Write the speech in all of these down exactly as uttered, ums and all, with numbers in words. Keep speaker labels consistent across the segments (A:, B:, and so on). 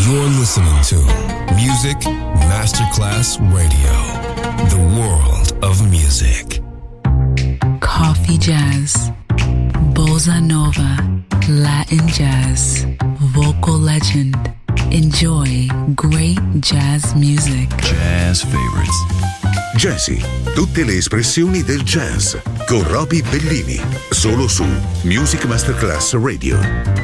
A: You're listening to Music Masterclass Radio, the world of music.
B: Coffee jazz, bossa nova, Latin jazz, vocal legend. Enjoy great jazz music.
C: Jazz favorites.
D: Jazzy, tutte le espressioni del jazz con Roby Bellini, solo su Music Masterclass Radio.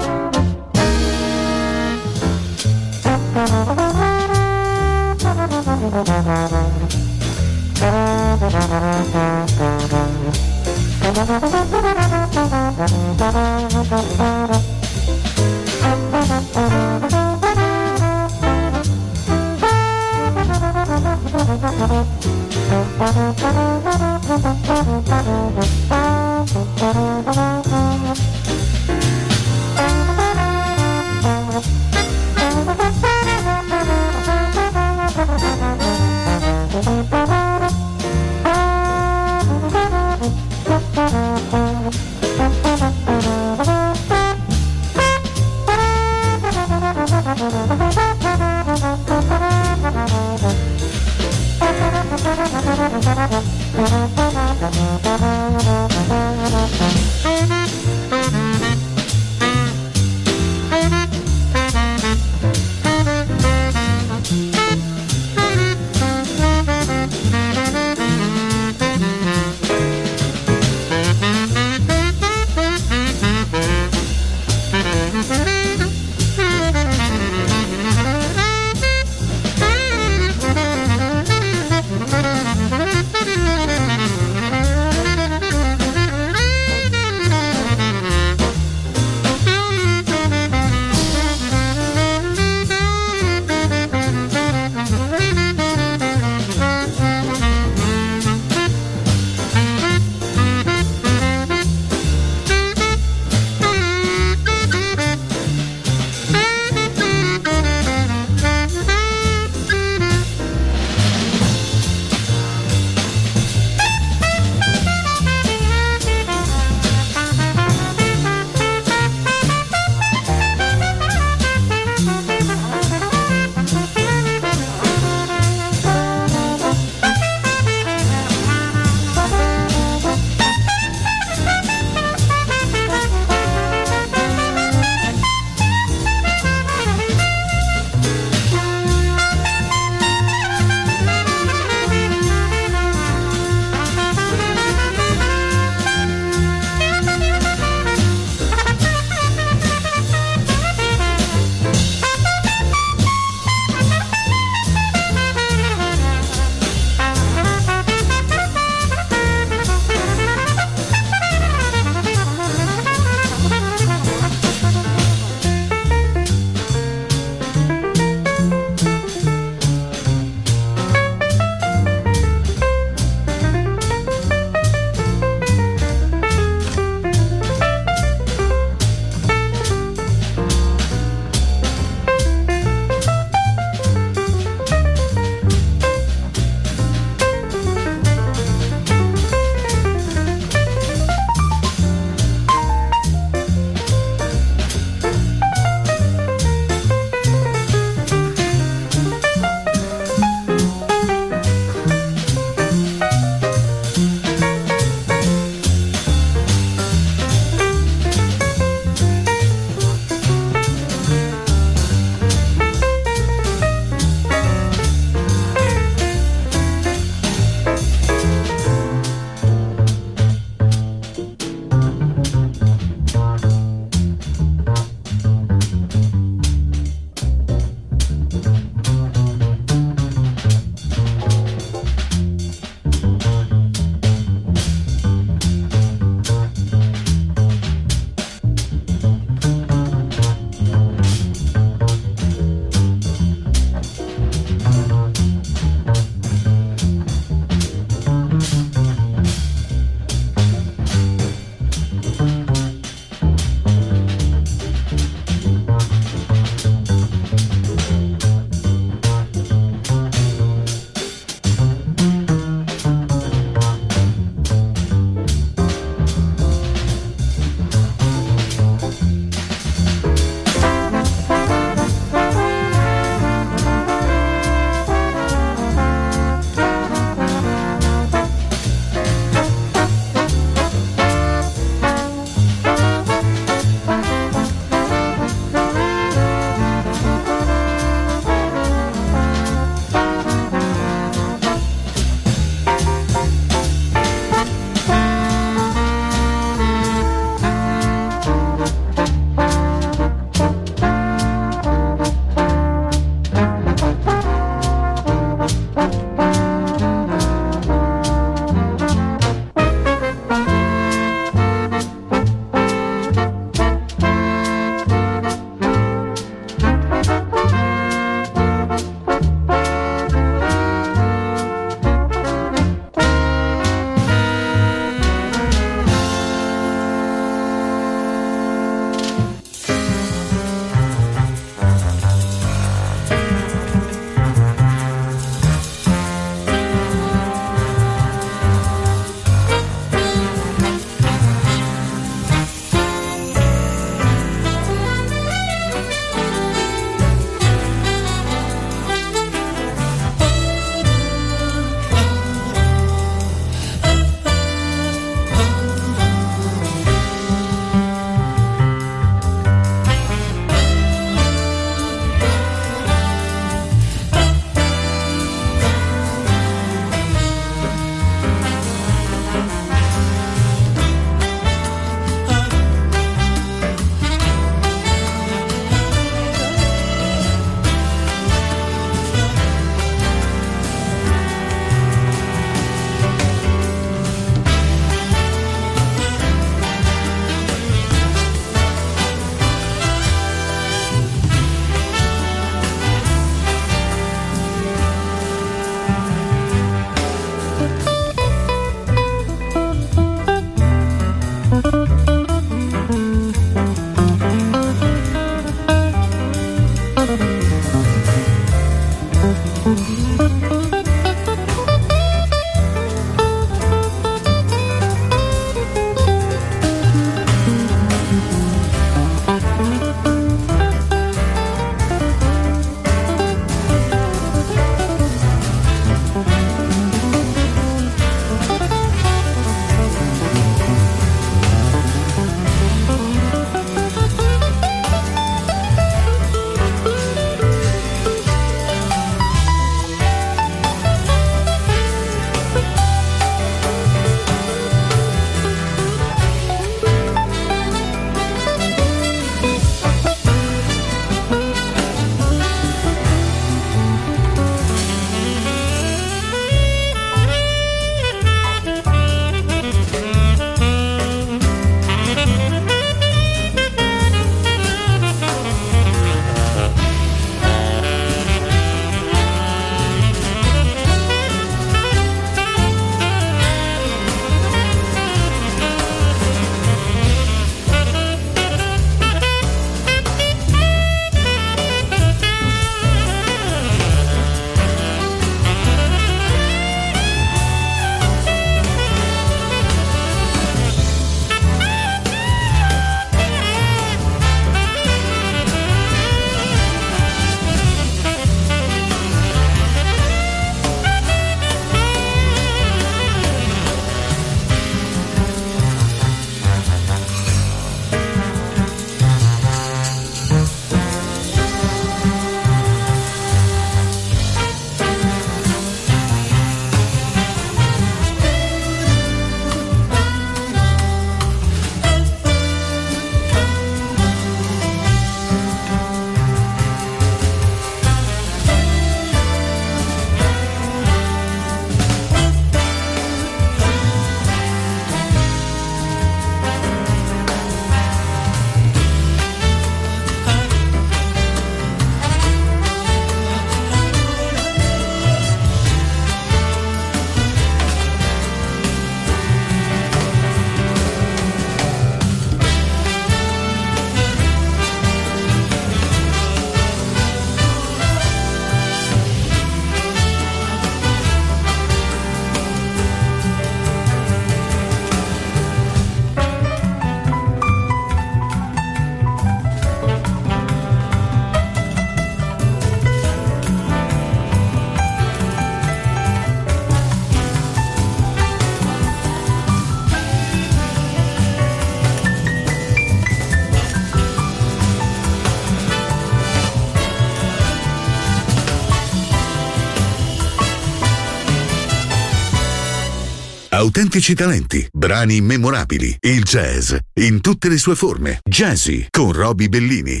D: Autentici talenti, brani memorabili, il jazz in tutte le sue forme. Jazzy con Roby Bellini.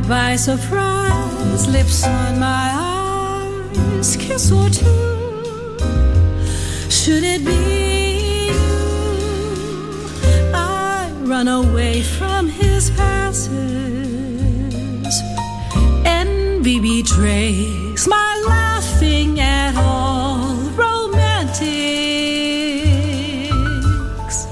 C: by surprise, lips on my eyes, kiss or two. Should it be you? I run away from his passes. Envy betrays my laughing at all romantics.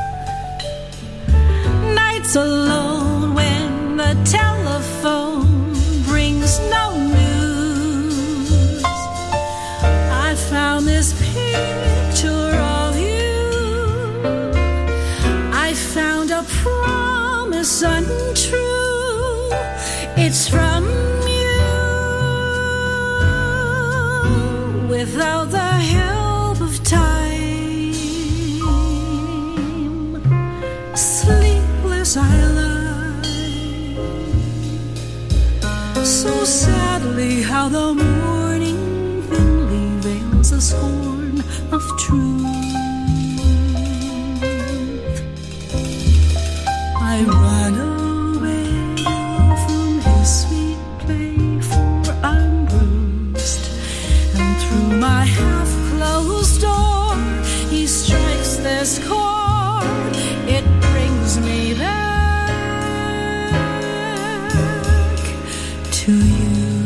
C: Nights alone when the telephone brings no news. I found this picture of you. I found a promise untrue. It's from you without the help of time. Sleepless I lie, so sadly how the morning thinly veils the scorn of truth. I run away from his sweet play, for I'm bruised, and through my half-closed door he strikes this chord. It brings me back to you.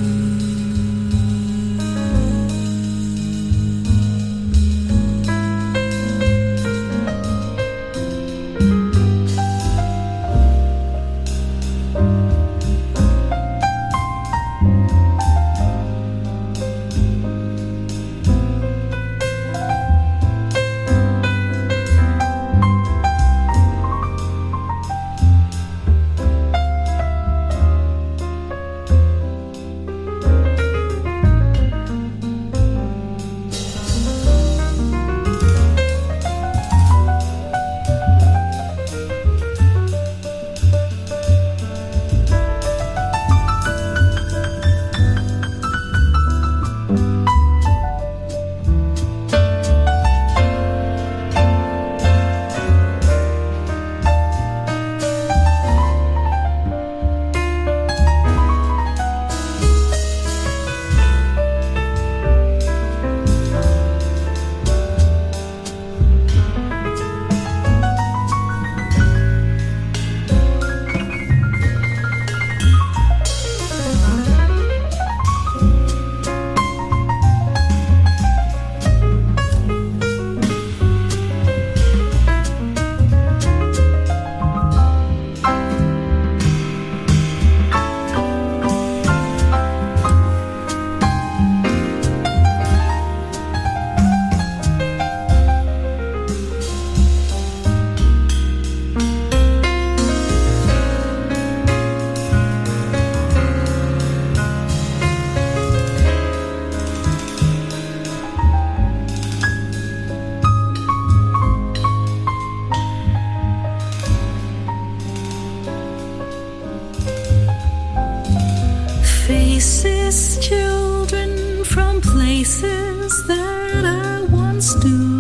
C: Faces, children from places that I once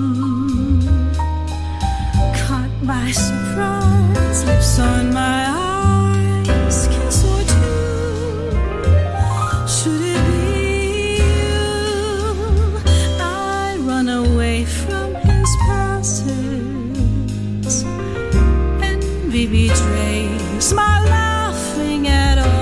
C: knew, caught by surprise, lips on my eyes, kiss or two. Should it be you? I run away from his passes. Envy betrays my laughing at all.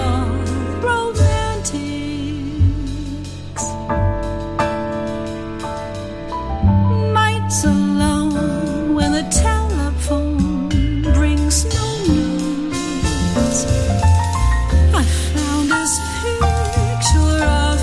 C: Picture of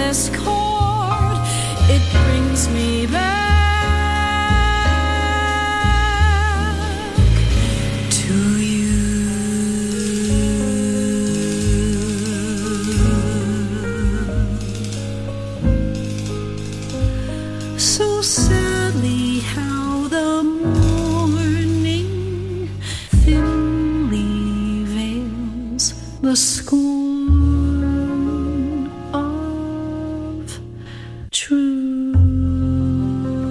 C: endless chord, it brings me back to you. So sadly how the morning thinly veils the scorn of truth.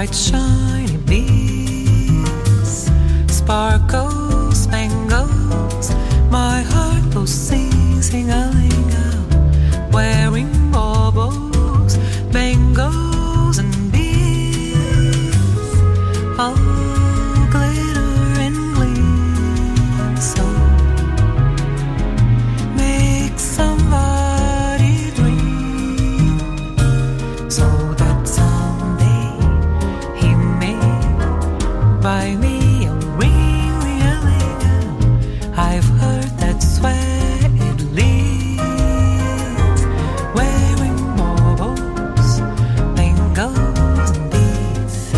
C: bright shiny beads, sparkles, spangles, my heart goes sing-sing-a-ling-a, wearing baubles, bangles and beads, all glitter and gleam, so make somebody dream, so that someday he may buy me a ring, ring-a-ling-a. I've heard that's where it leads, wearing baubles, bangles and beads,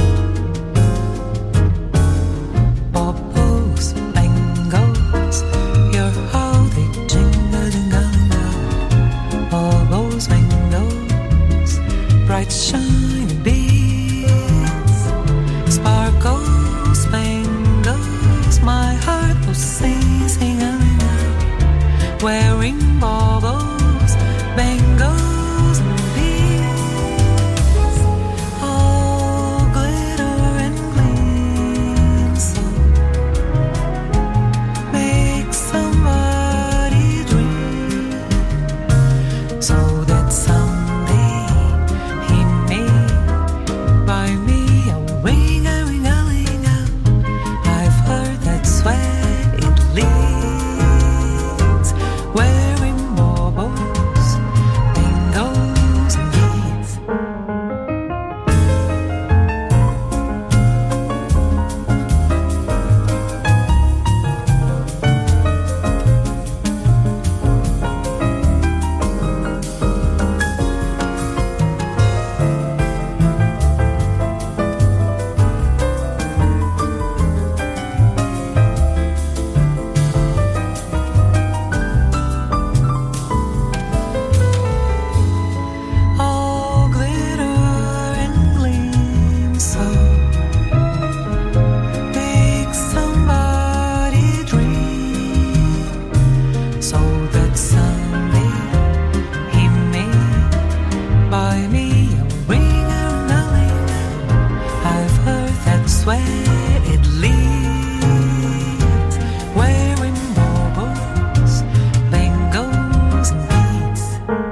C: baubles, bangles, hear how they jingle, jingle, jingle, baubles, bangles, bright shiny beads, sparkles, spangles, my heart will sing, sing, wearing baubles, bangles and beads, all glitter and gleam, so make somebody dream, so that someday he may buy me a ring, a ring, a ring, a. I've heard that's where it leads, wearing baubles, bangles and beads. All glitter and gleam, so make somebody dream, so that someday he may buy me a ring, a ring, I've heard that's where it leads, wearing baubles, bangles and beads.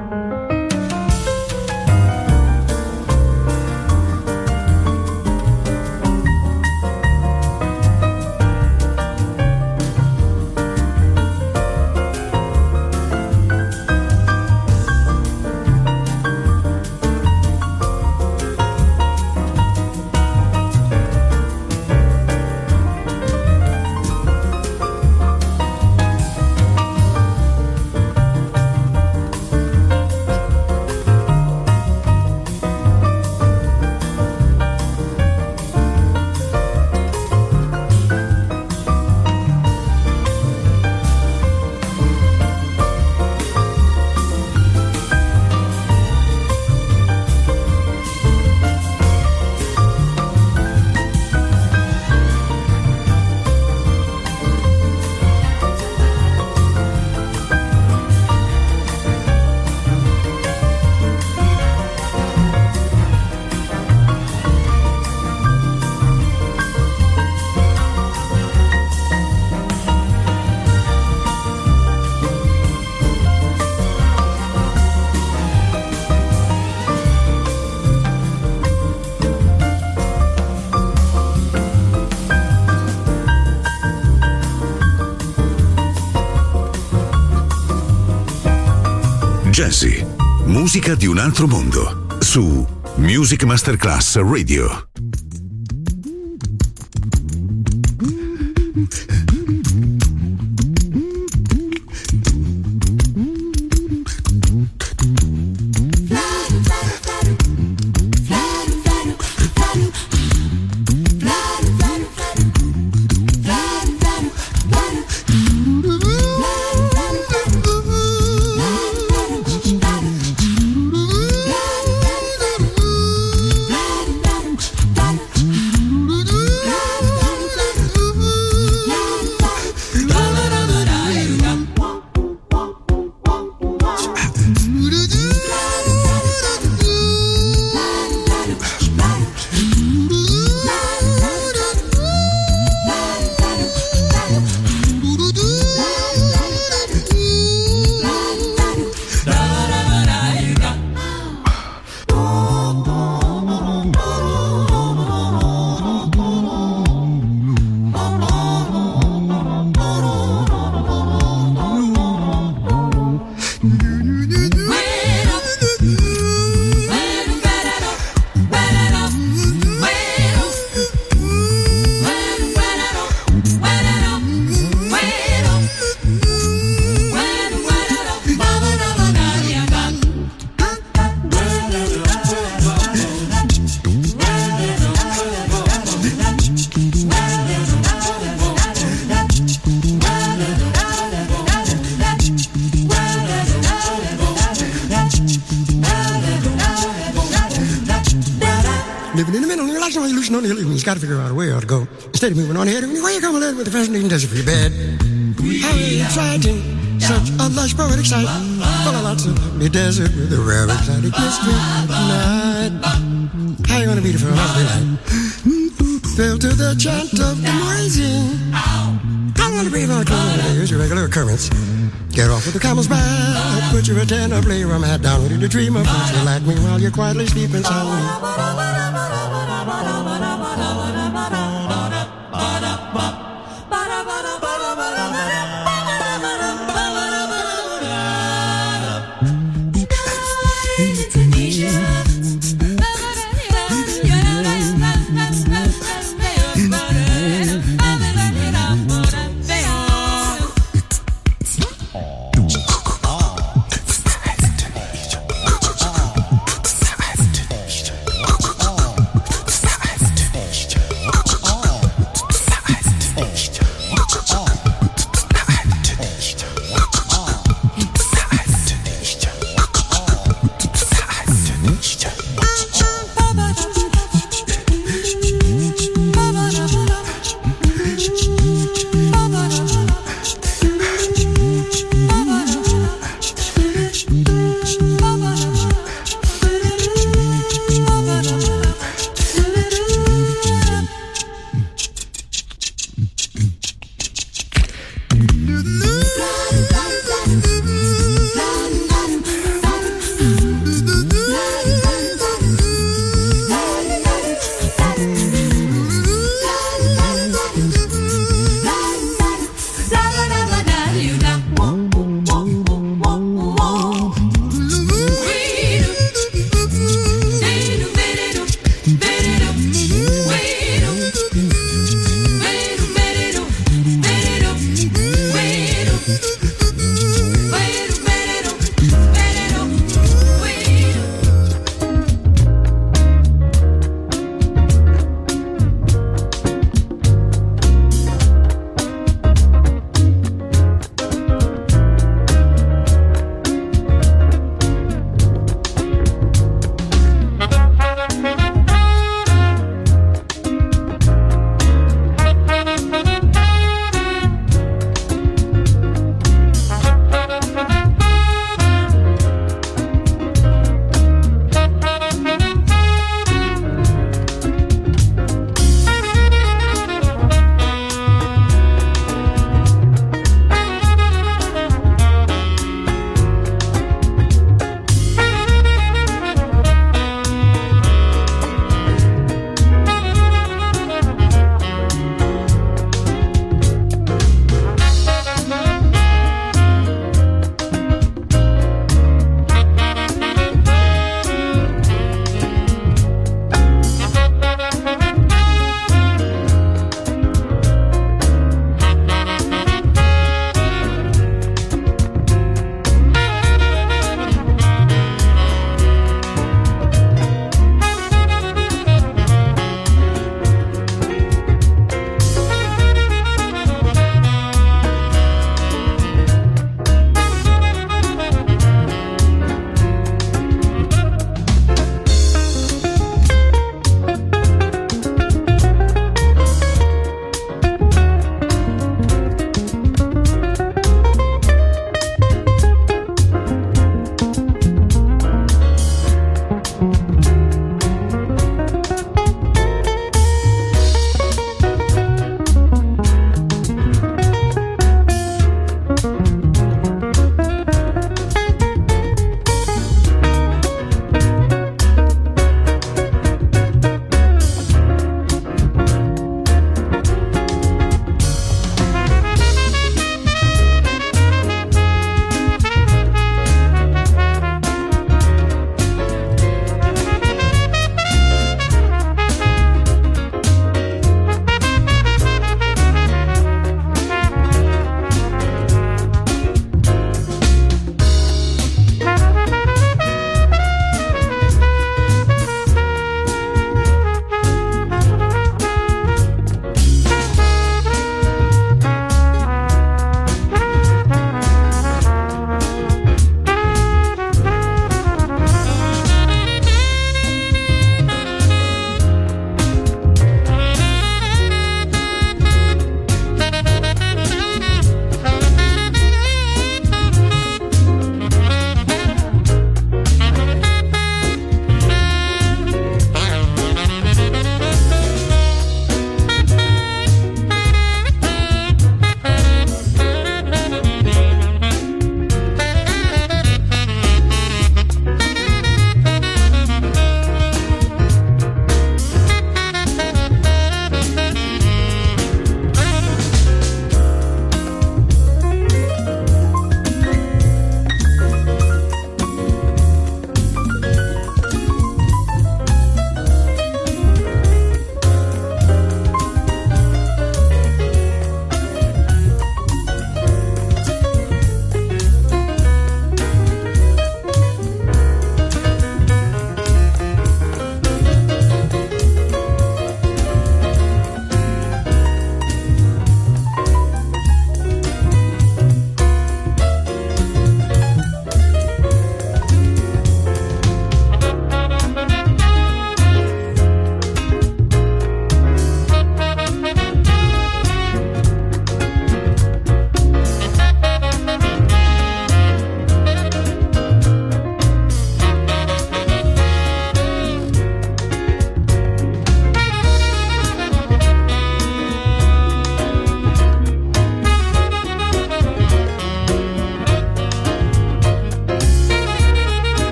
D: Jazzy, musica di un altro mondo, su Music Masterclass Radio.
E: pushing on the hill, he's got to figure out a way how to go. Instead of moving on ahead, why you come a little with the fascinating desert for your bed? How exciting, such a lush poetic sight, full of lots of lovely desert with a rare exotic mystery night. How you gonna beat it for a lovely night? Fell to the chant of the noisy. I'm gonna breathe on a corner. Here's your regular occurrence. Get off with the camel's back. Put your antenna, play your hat down. Ready to dream of what you like me while you're quietly sleeping soundly.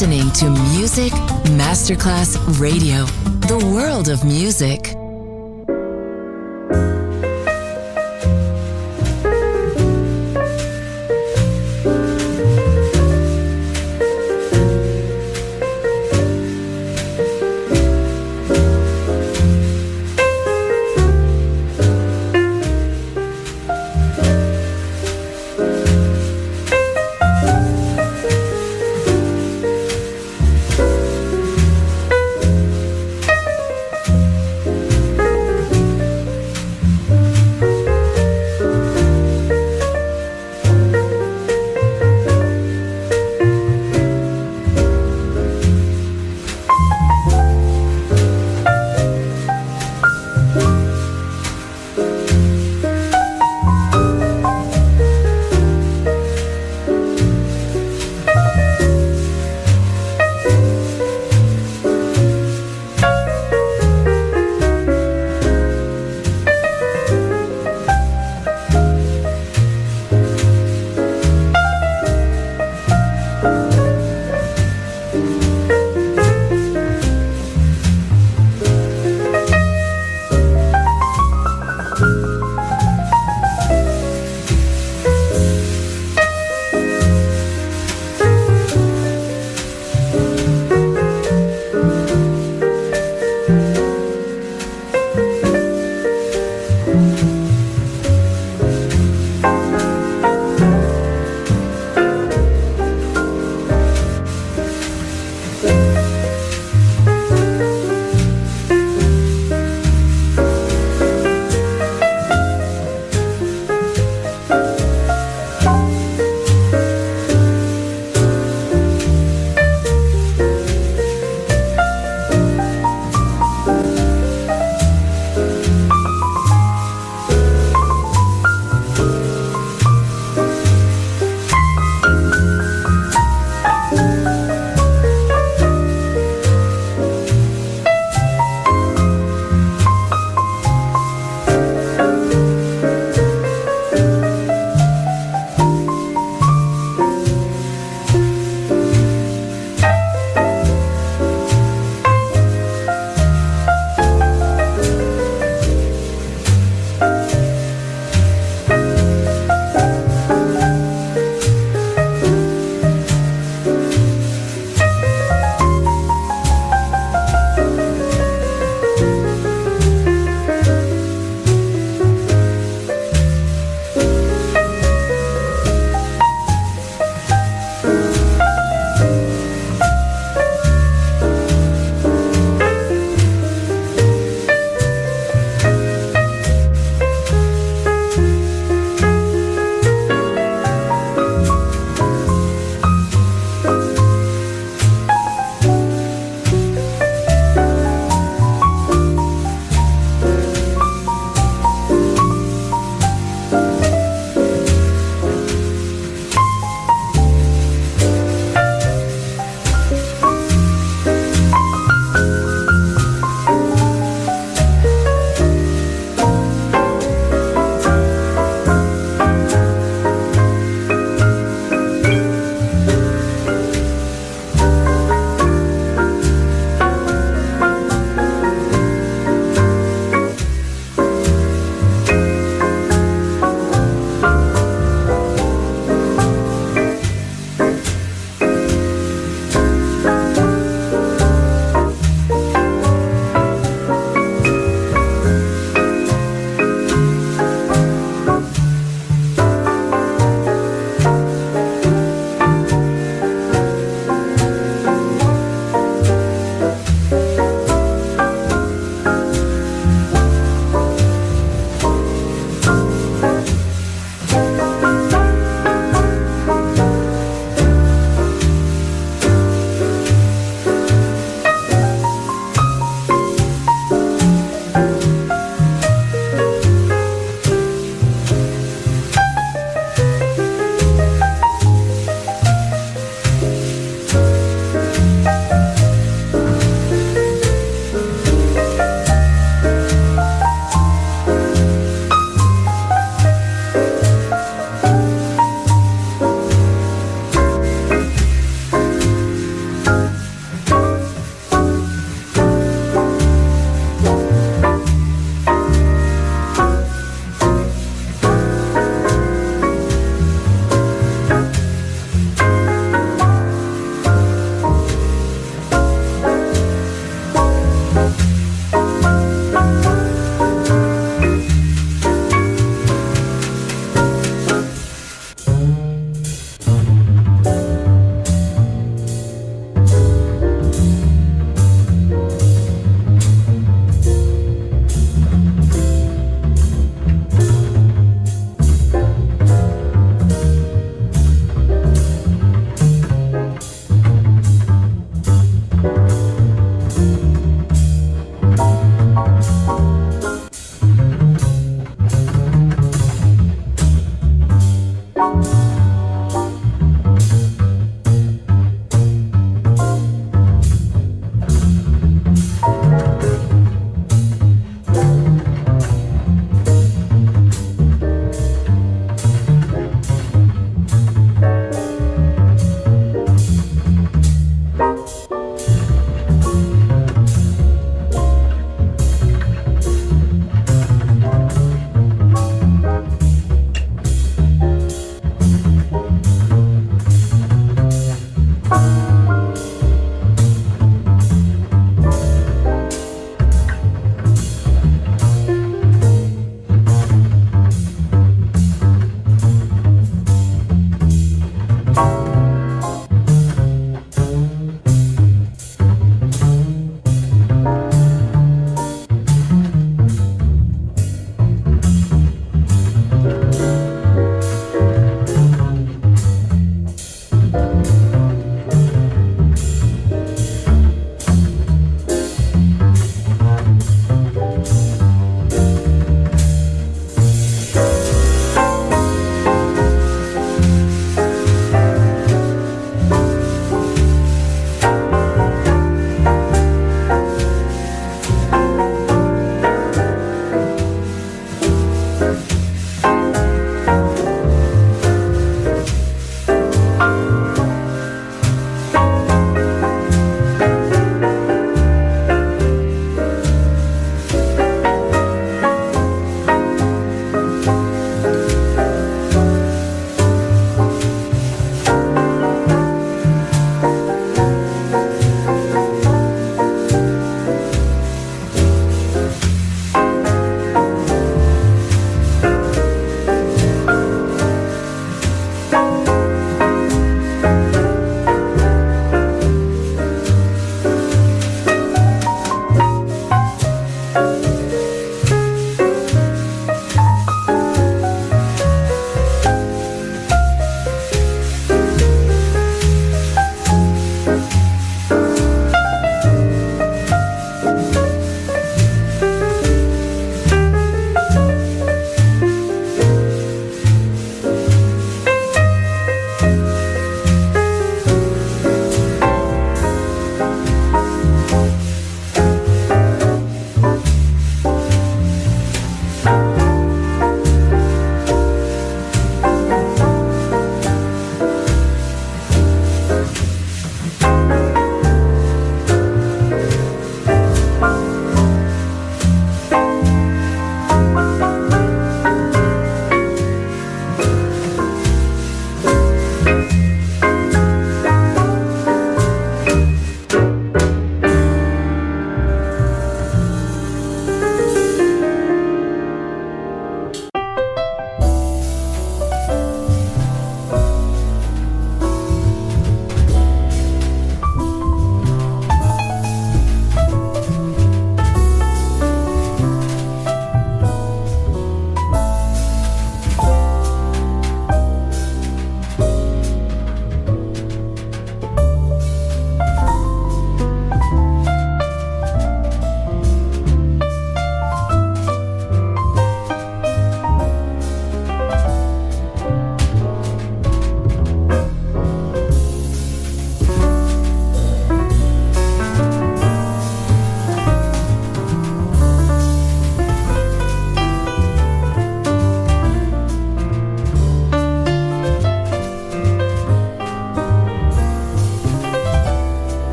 F: listening to Music Masterclass Radio, the world of music.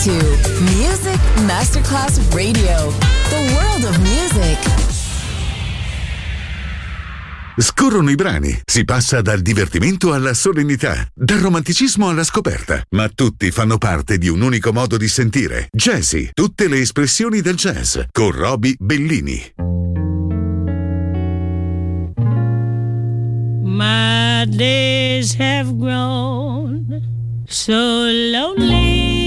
F: to Music Masterclass Radio, the world of music.
D: Scorrono i brani, si passa dal divertimento alla solennità, dal romanticismo alla scoperta, ma tutti fanno parte di un unico modo di sentire. Jazzy, tutte le espressioni del jazz, con Roby Bellini.
C: My days have grown so lonely.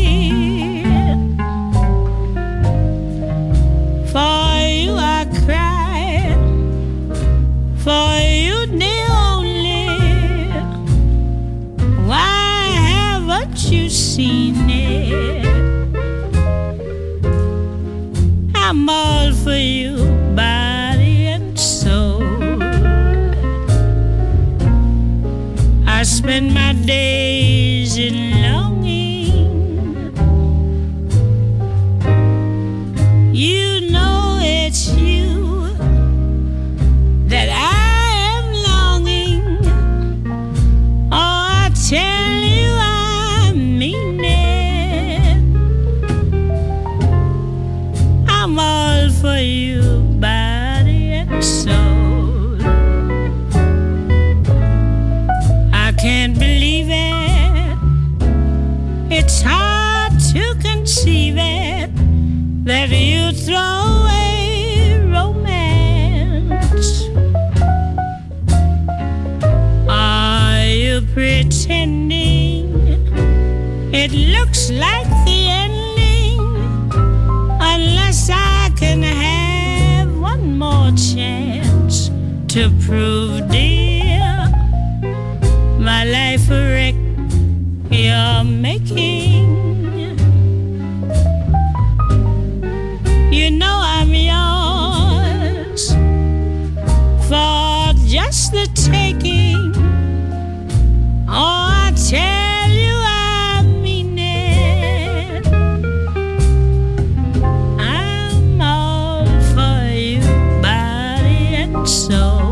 C: For you I cry, for you the only. Why haven't you seen it? I'm all for you, body and soul. I spend my days in longing. You know it's you that I am longing. Oh, I tell you I mean it. I'm all for you, body and soul. I can't believe it. It's hard to conceive it that you throw away romance. Are you pretending it looks like the ending? Unless I can have one more chance to prove, dear, my life a wreck you're making. You know I'm yours for just the taking. Oh, I tell you I mean it. I'm all for you, body and soul.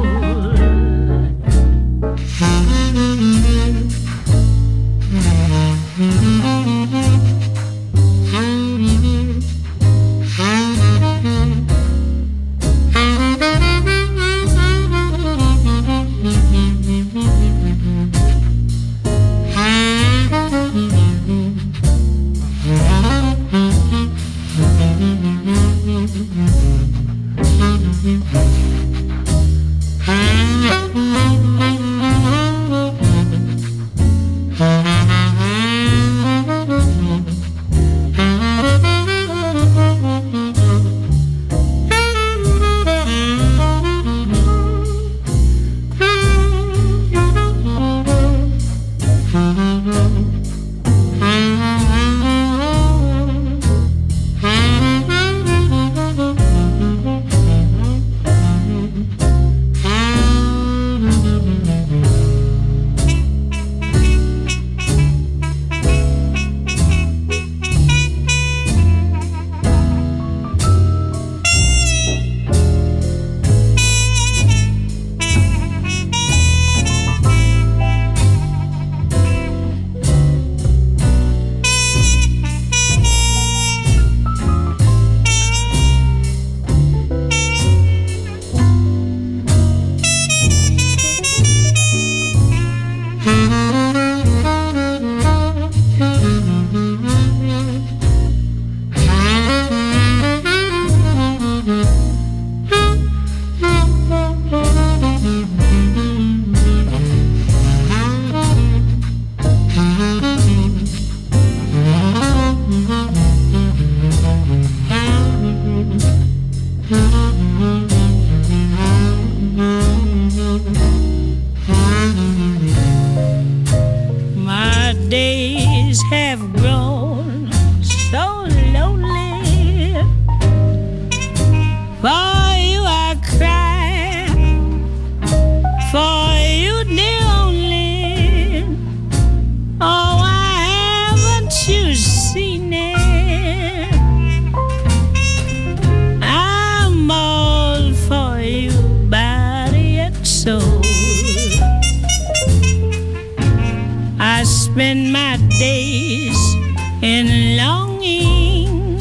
C: in longing,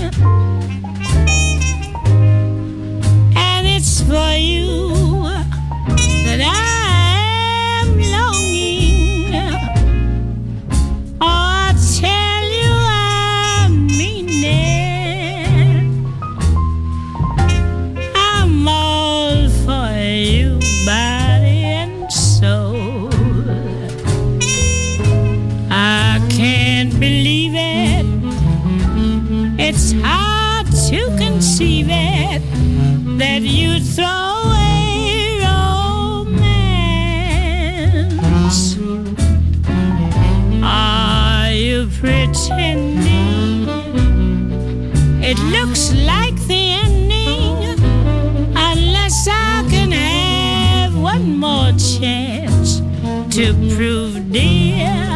C: and it's for you that I am longing. Oh, I tell you I mean it. I'm all for you, body and soul. I can't believe it. It's hard to conceive it that you throw away romance. Are you pretending? It looks like the ending, unless I can have one more chance to prove, dear,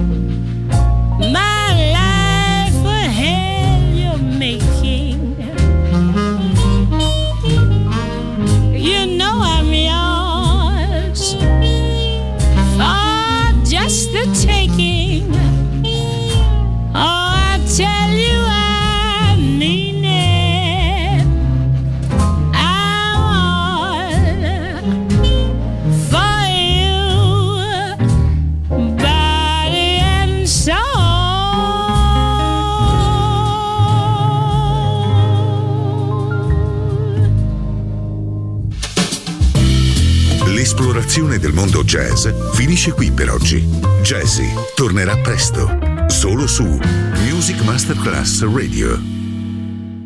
C: my life a hell you're making. You know I'm yours for just the taking. Oh, I tell you I mean it. I'm all for you, body and soul.
D: L'esplorazione del mondo jazz finisce qui per oggi. Jazzy tornerà presto, solo su Music Masterclass Radio.